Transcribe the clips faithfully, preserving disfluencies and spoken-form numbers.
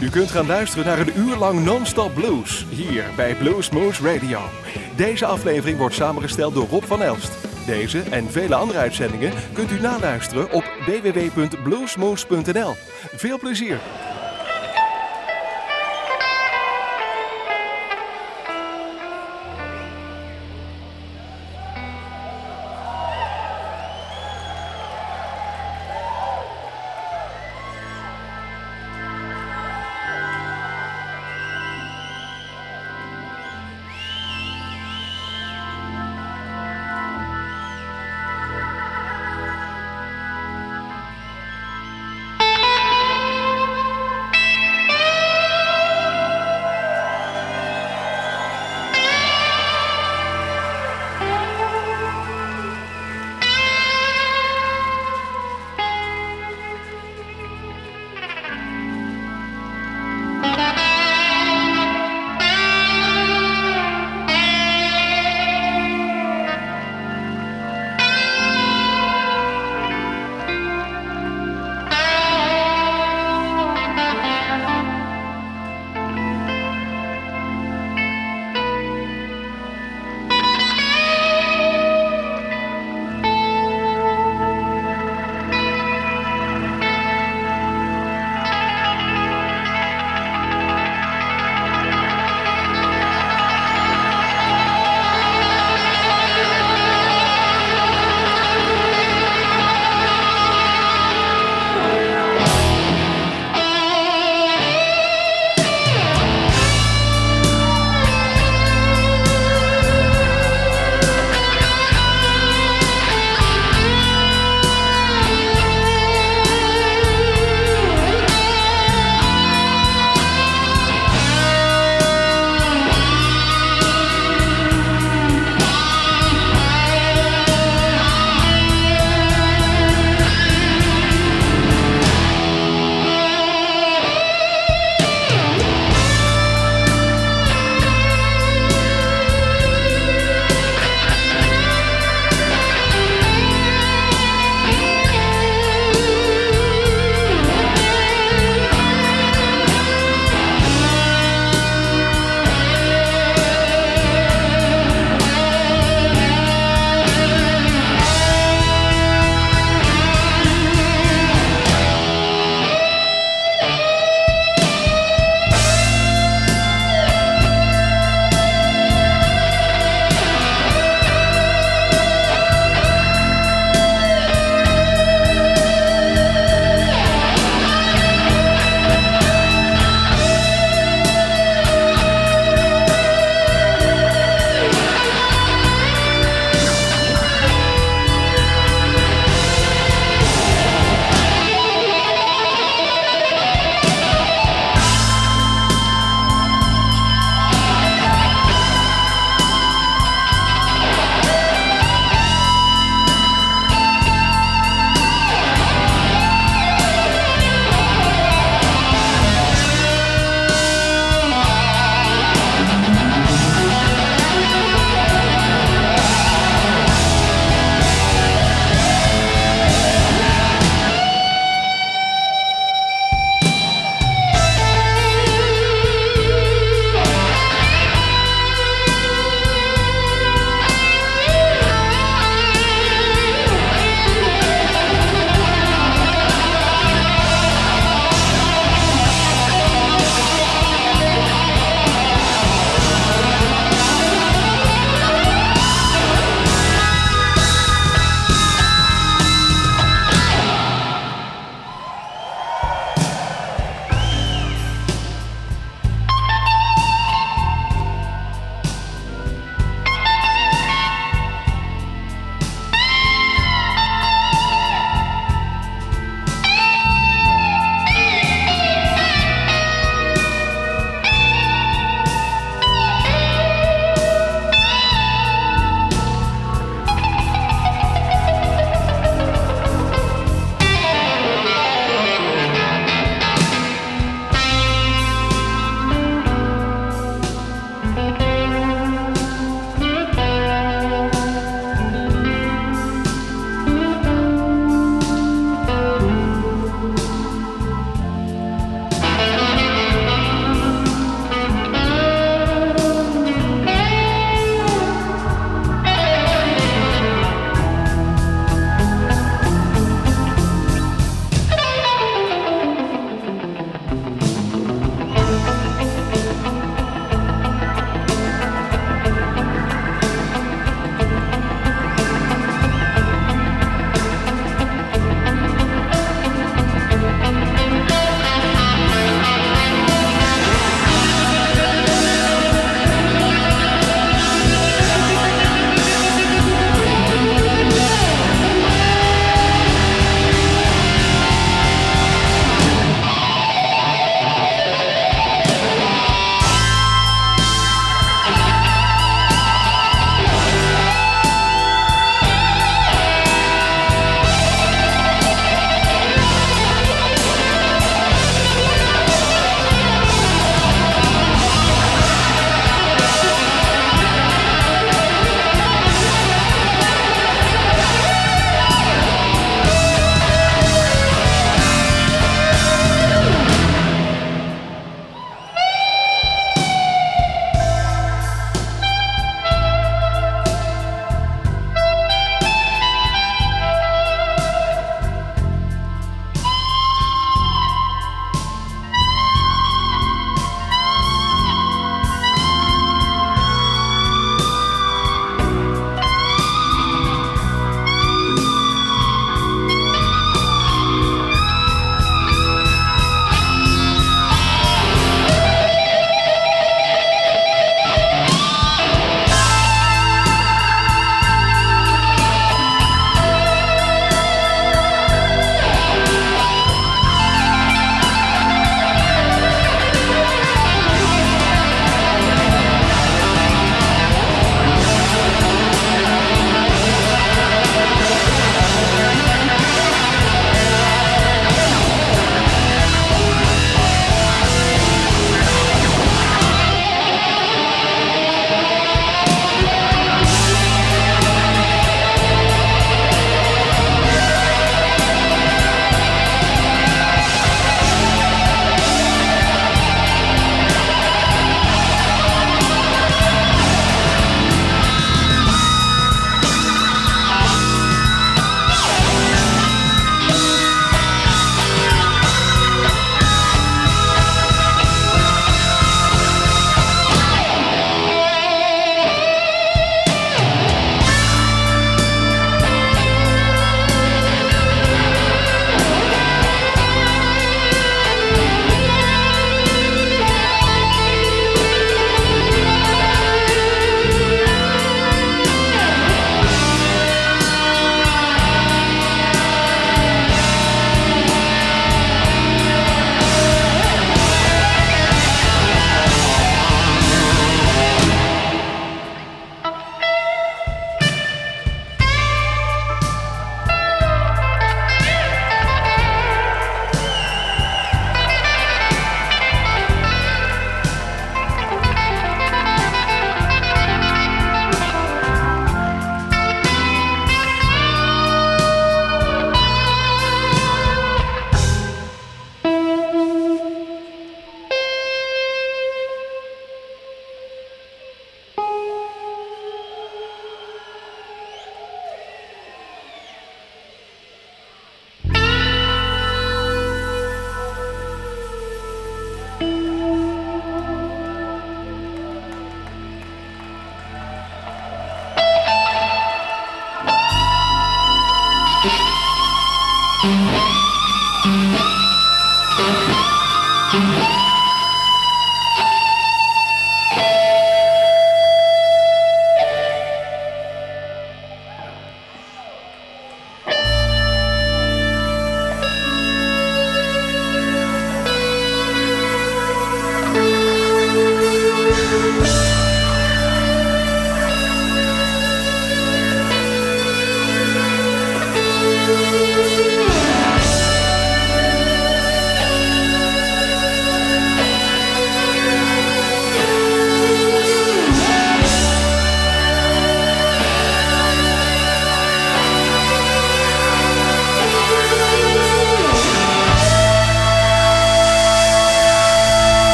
U kunt gaan luisteren naar een uur lang non-stop blues, hier bij Bluesmoose Radio. Deze aflevering wordt samengesteld door Rob van Elst. Deze en vele andere uitzendingen kunt u naluisteren op w w w punt bluesmoose punt n l. Veel plezier!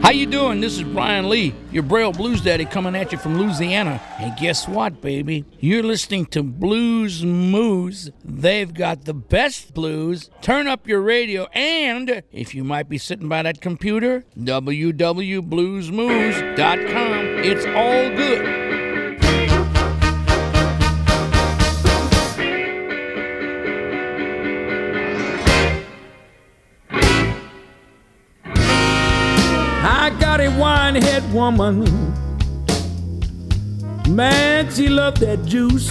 How you doing? This is Brian Lee, your Braille Blues Daddy, coming at you from Louisiana. And guess what, baby? You're listening to Blues Moose. They've got the best blues. Turn up your radio, and if you might be sitting by that computer, w w w dot blues moose dot com. It's all good. I got a wine-head woman, man, she loved that juice.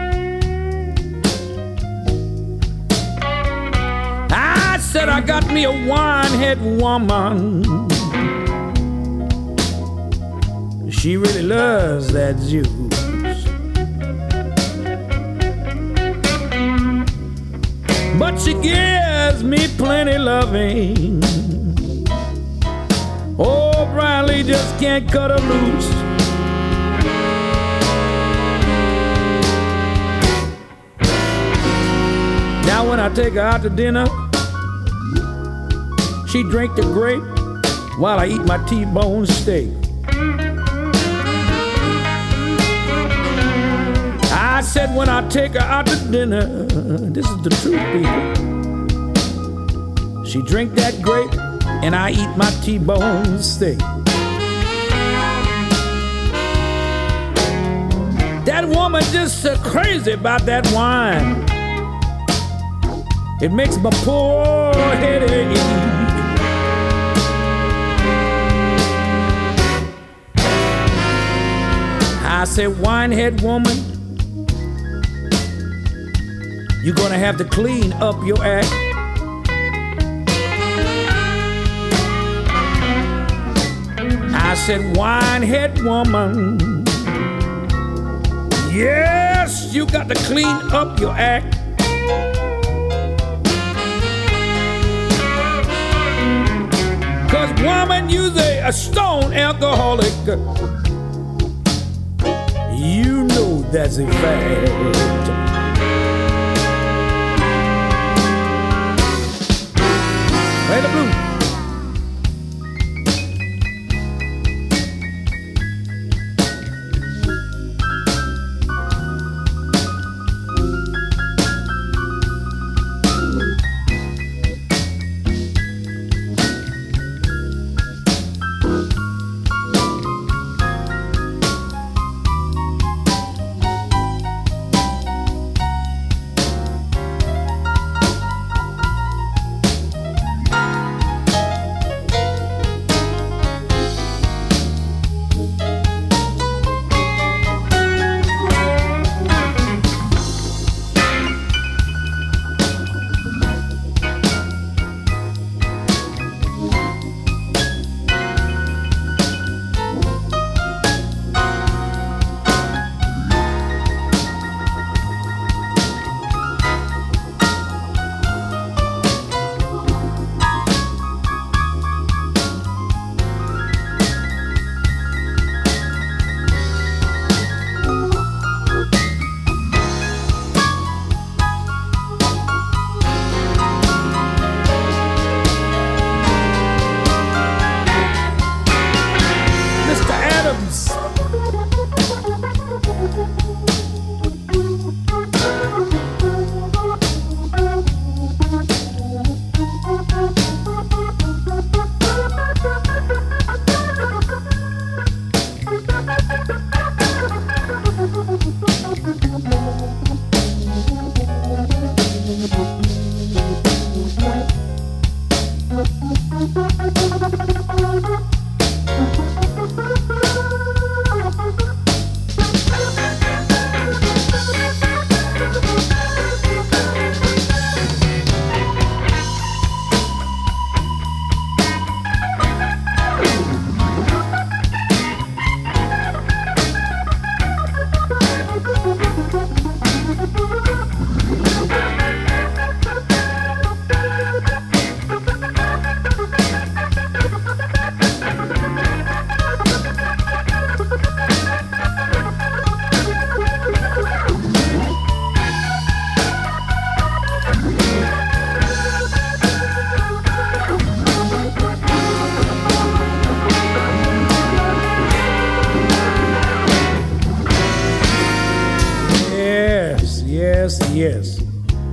I said I got me a wine-head woman, she really loves that juice. But she gives me plenty loving. Oh, Brian Lee just can't cut her loose. Now when I take her out to dinner, she drink the grape while I eat my T-bone steak. I said when I take her out to dinner, this is the truth, people. She drink that grape and I eat my T-bone steak. That woman just so crazy about that wine. It makes my poor head ache. I said, winehead woman, you're gonna have to clean up your act. I said, winehead woman, yes, you got to clean up your act. Cause woman, you's a, a stone alcoholic. You know that's a fact. Play the blues.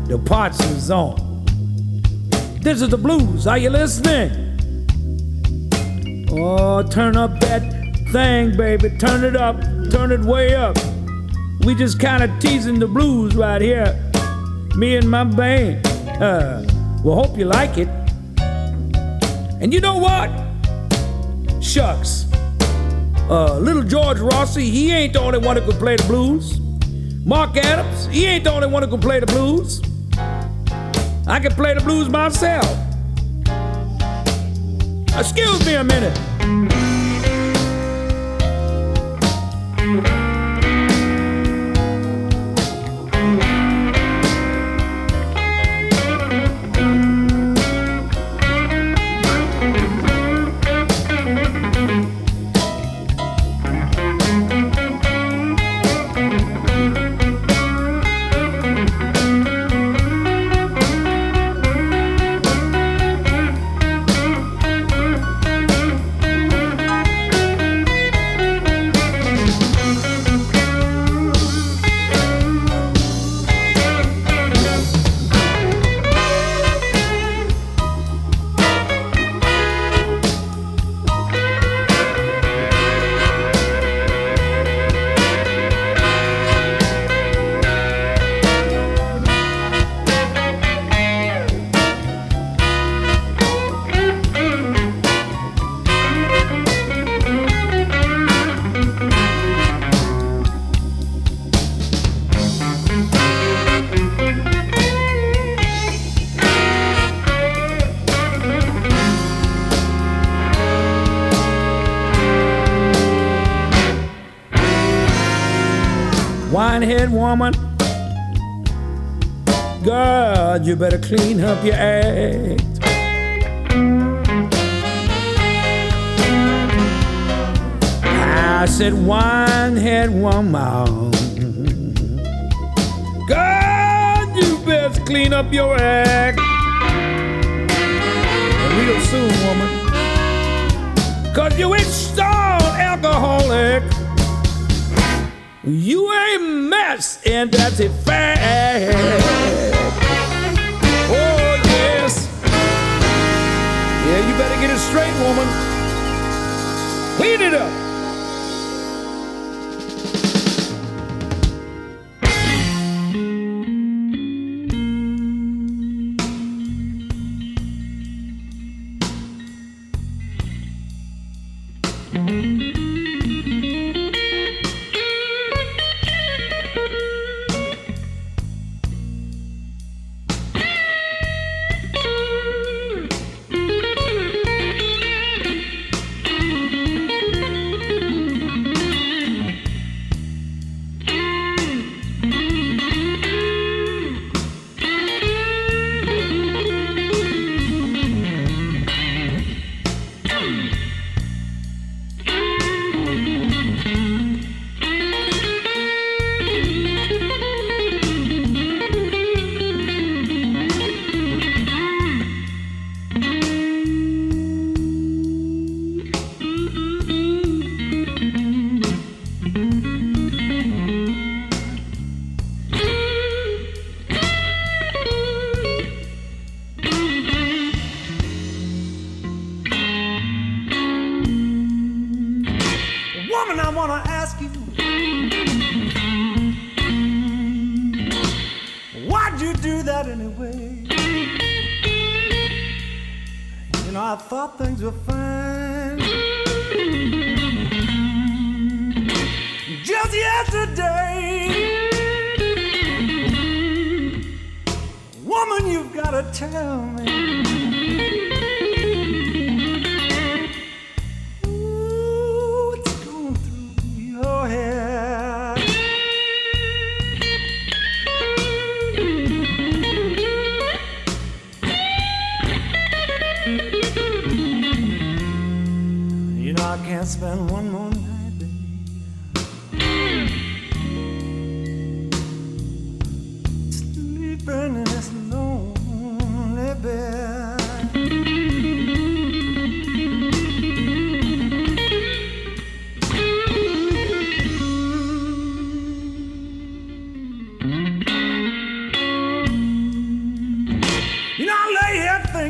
the parts is on. This is the blues. Are you listening? Oh, turn up that thing, baby. Turn it up. Turn it way up. We just kind of teasing the blues right here. Me and my band. Uh, well, hope you like it. And you know what? Shucks. Uh, little George Rossi, he ain't the only one who can play the blues. Mark Adams, he ain't the only one who can play the blues. I can play the blues myself. Excuse me a minute. Winehead woman, God, you better clean up your act. I said, winehead woman, God, you better clean up your act. Real soon, woman, 'cause you ain't stone alcoholic. You a mess, and that's a fact. Oh, yes. Yeah, you better get it straight, woman. Clean it up.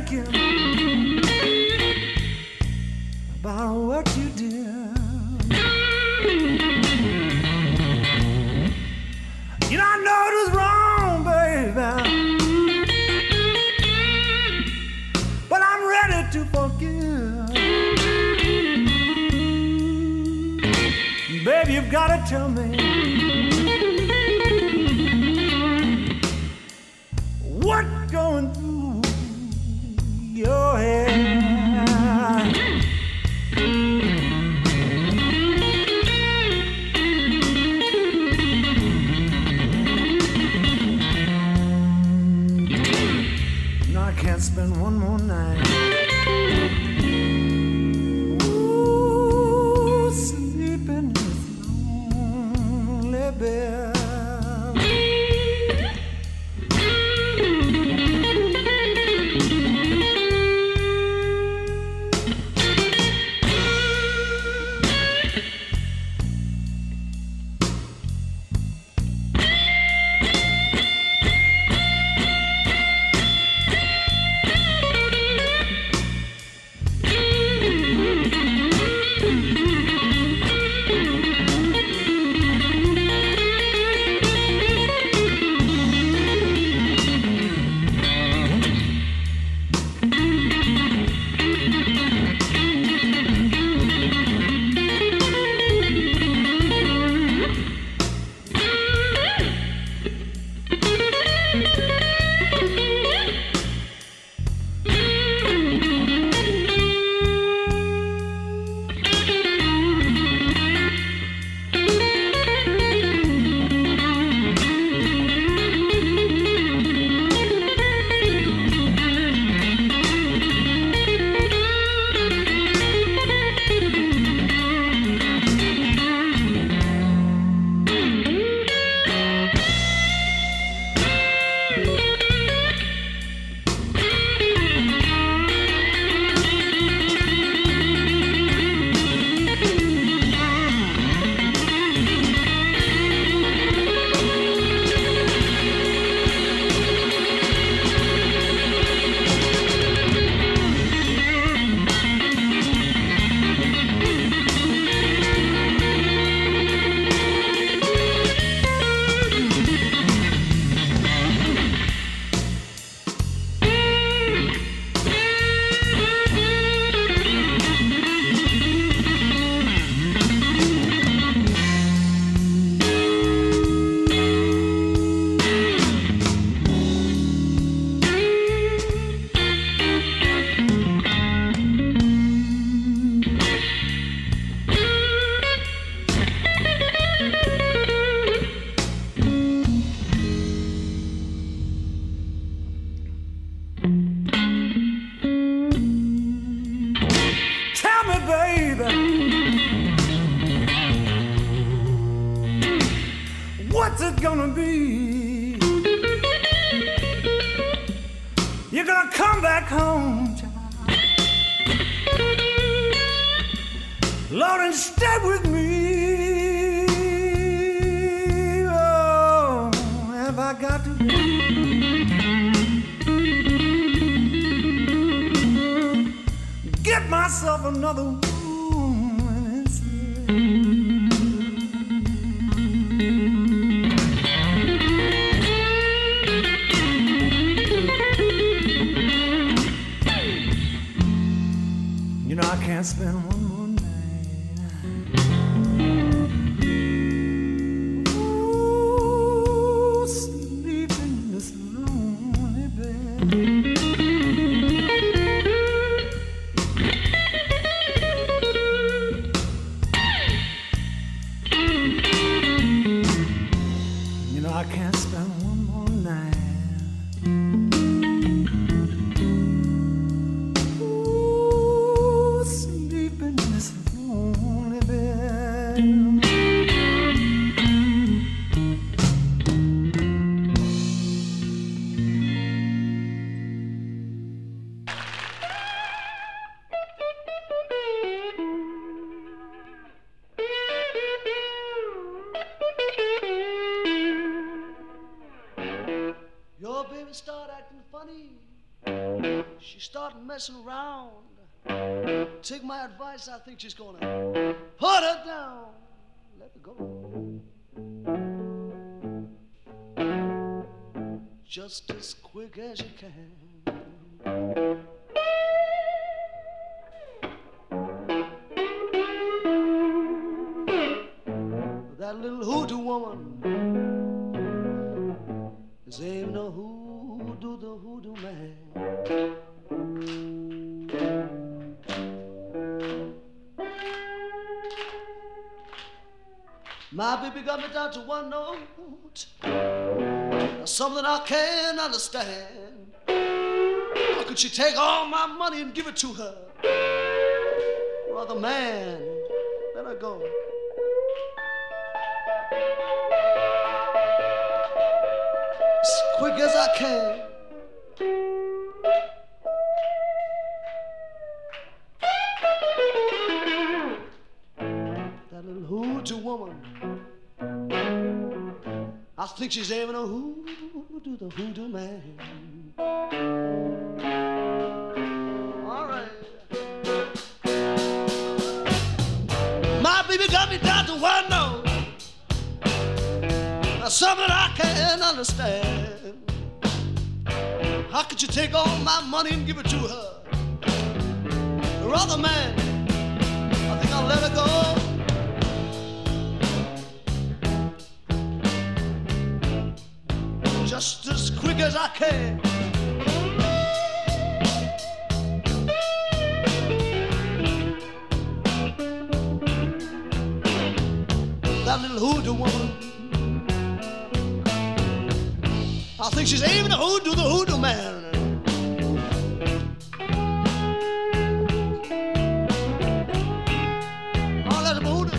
thinking about what you did. You know, I know it was wrong, baby, but I'm ready to forgive. Baby, you've got to tell me what's going through your head. Can't spend one more night. Ooh, sleeping in this lonely bed. What's it gonna be? You're gonna come back home, child, Lord, and stay with me. Oh, have I got to get myself another woman instead? You know I can't spend one more night. Ooh, sleeping in this lonely bed. You know I can't spend one more night. Your baby start acting funny She started messing around. Take my advice, I think she's gonna put her down. Let her go. Just as quick as you can. That little hoodoo woman is aiming a hoodoo, the hoodoo man. My baby got me down to one note, something I can't understand. How could she take all my money and give it to her? Brother man, let her go. As quick as I can. That little hoodoo woman, I think she's aiming a hoodoo, the hoodoo man. All right. My baby got me down to one note, something I can't understand. How could you take all my money and give it to her? Brother man, I think I'll let her go. Just as quick as I can. That little hoodoo woman, I think she's aiming to hoodoo the hoodoo man. Oh, let him hoodoo.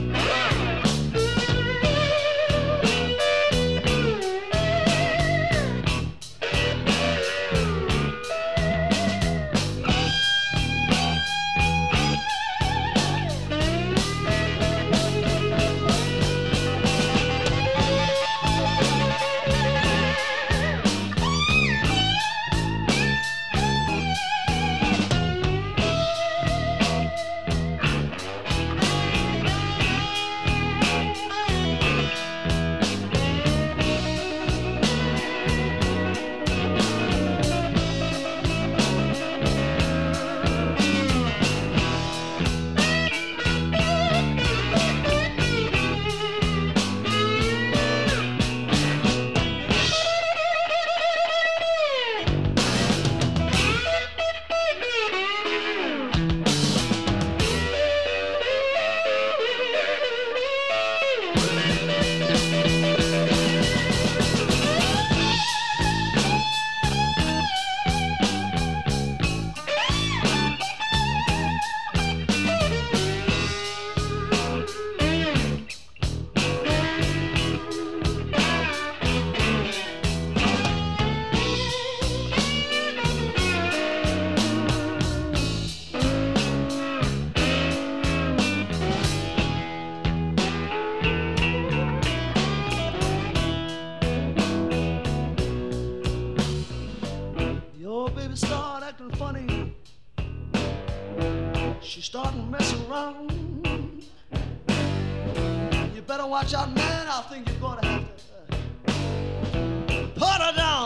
Watch out, man, I think you're gonna have to put her down.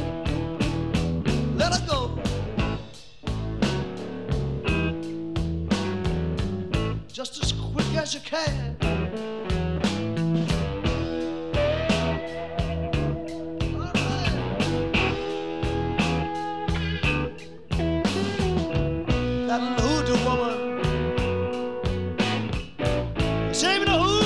Let her go. Just as quick as you can. All right. That little hoodoo woman, save me the hoodoo.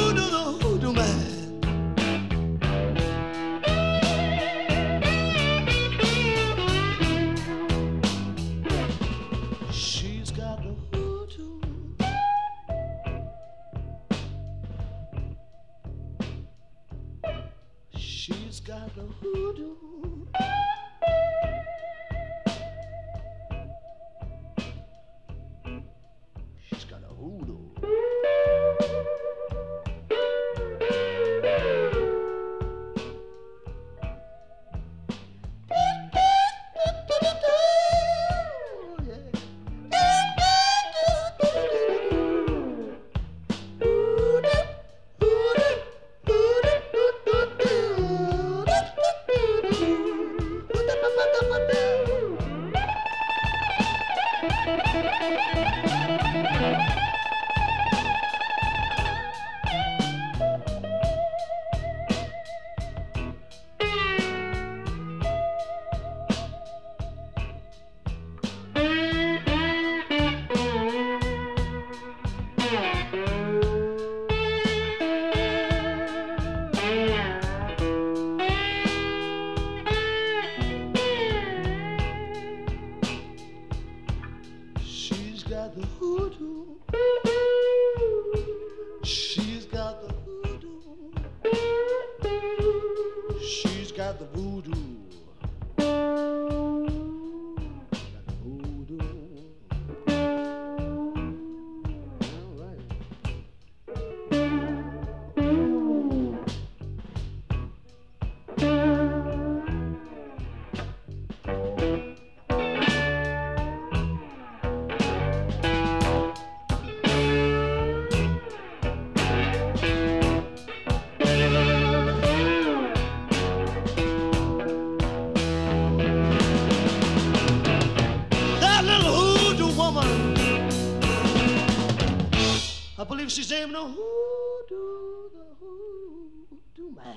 She's named the Hoodoo, the Hoodoo Man.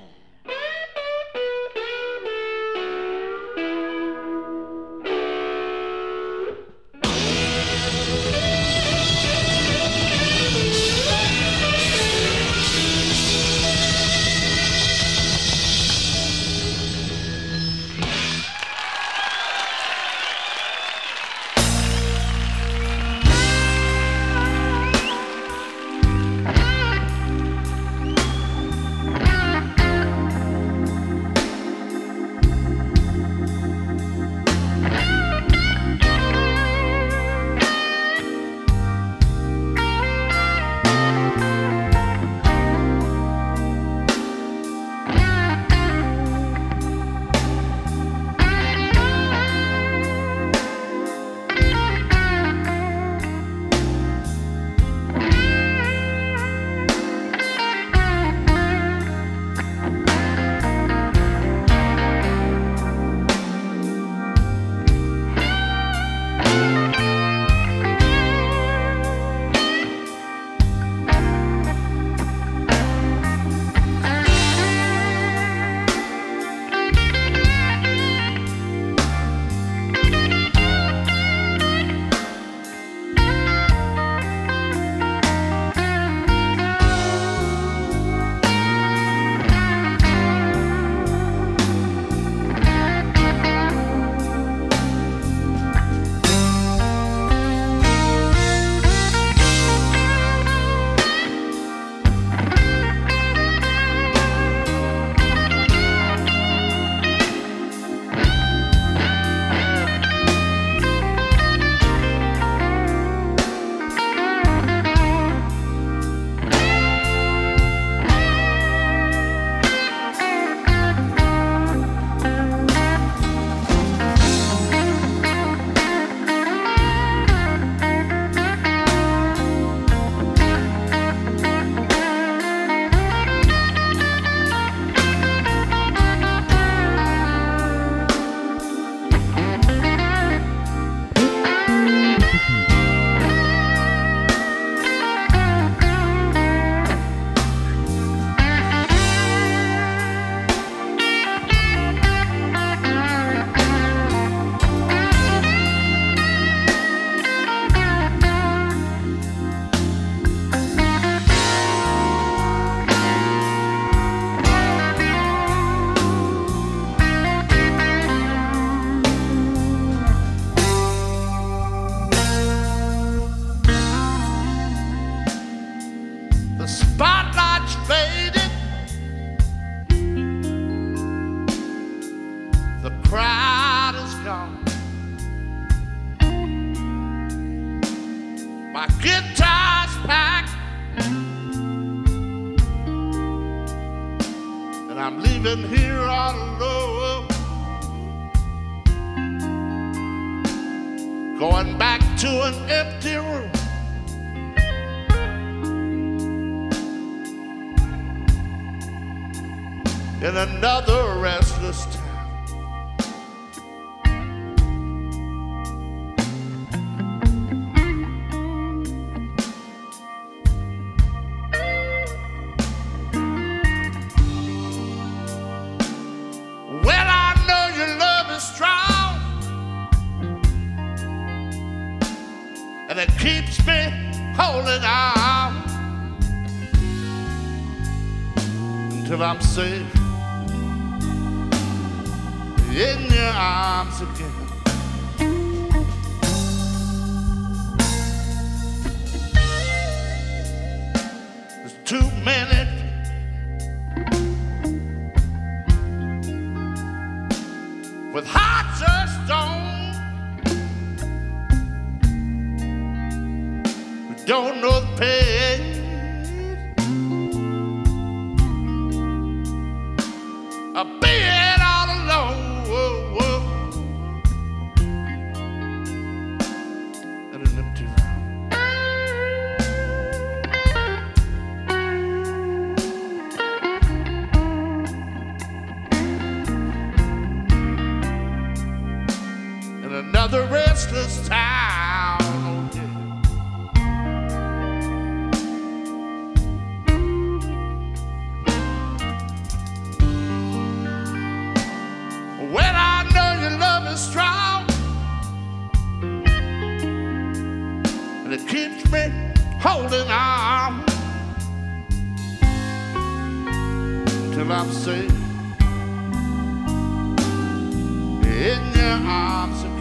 Going back to an empty room. In another restless town. and it keeps me holding on until I'm safe in your arms again. There's too many with hearts of stone who don't know the pain of being all alone. Whoa, whoa. And an empty room. In another restless town. Oh, yeah. When I know your love is strong and it keeps me holding on till I'm safe in your arms again.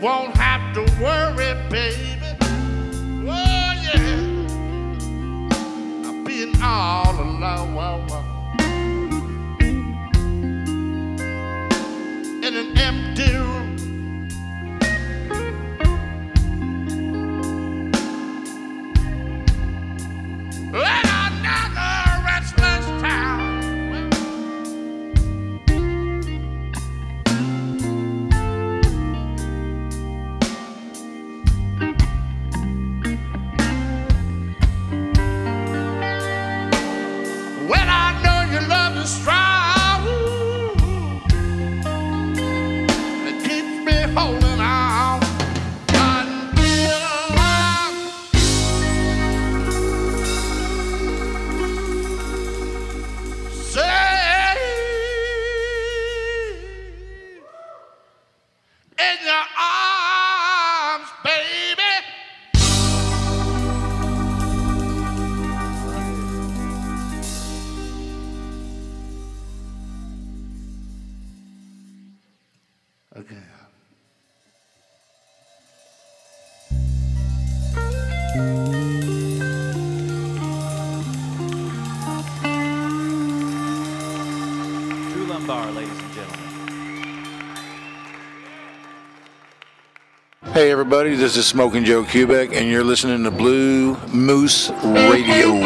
won't have to worry, baby. Oh, yeah. I'm being all alone in an empty room. In another restless town. When I know your love is strong, it keeps me holding on until I'm safe in your arms, baby. Okay. Drew Lumbar, ladies and gentlemen. Hey everybody, this is Smoking Joe Kubek, and you're listening to Blue Moose Radio.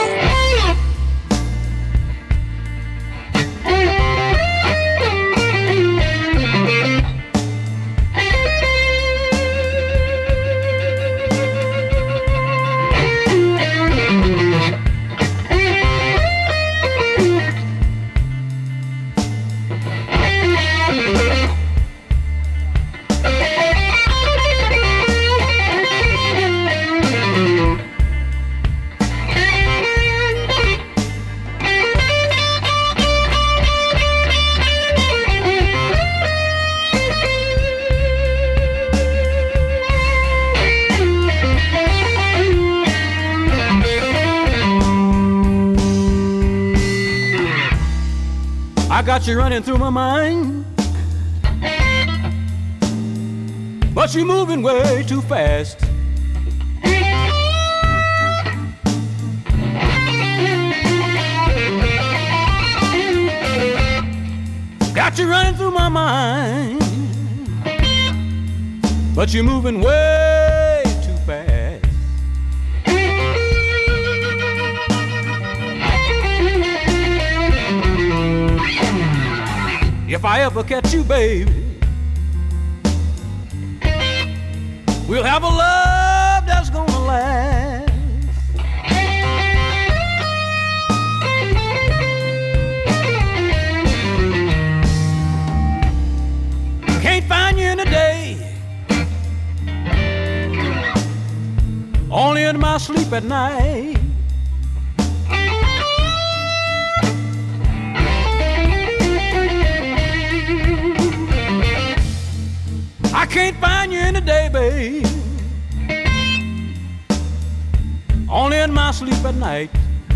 I got you running through my mind, but you're moving way too fast. Got you running through my mind, but you're moving way too fast. If I ever catch you, baby, we'll have a love that's gonna last. Can't find you in a day, only in my sleep at night. I can't find you in the day, babe, only in my sleep at night.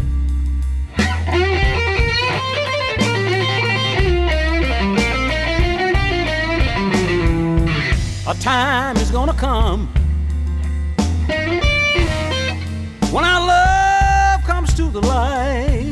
A time is gonna come when our love comes to the light.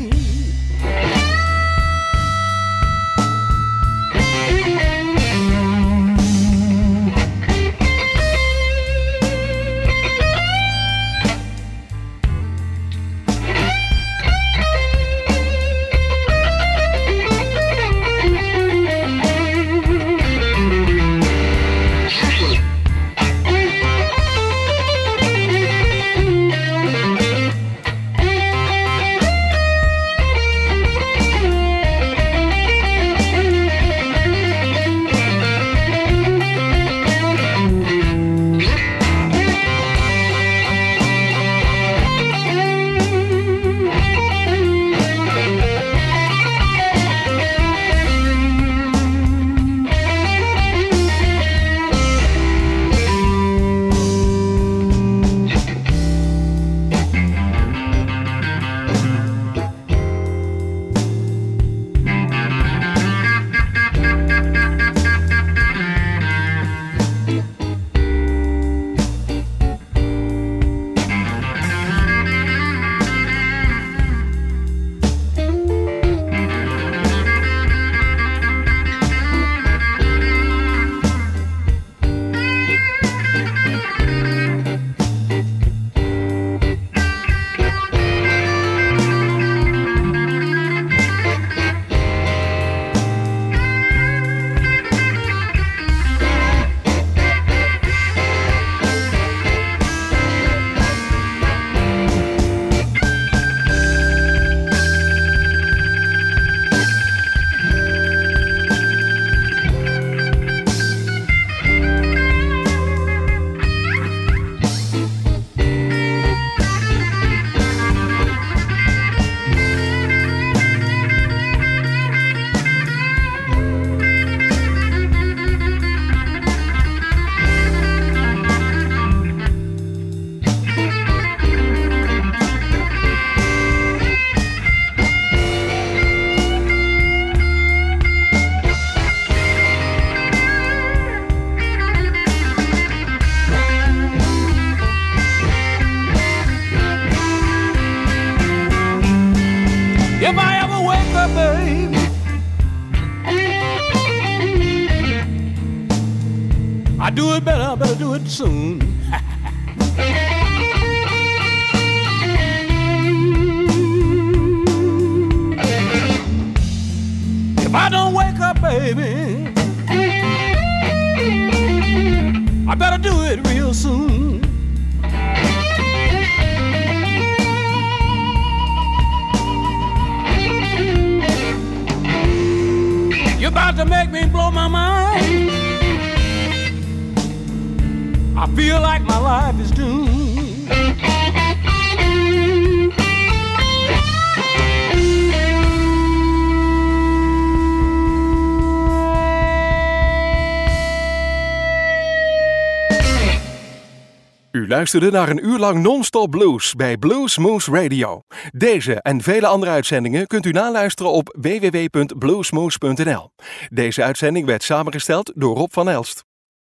I do it better, I better do it soon. If I don't wake up, baby, I better do it real soon. You're about to make me blow my mind. I feel like my life is doomed. U luisterde naar een uur lang non-stop blues bij Blues Moose Radio. Deze en vele andere uitzendingen kunt u naluisteren op w w w punt bluesmoose punt n l. Deze uitzending werd samengesteld door Rob van Elst.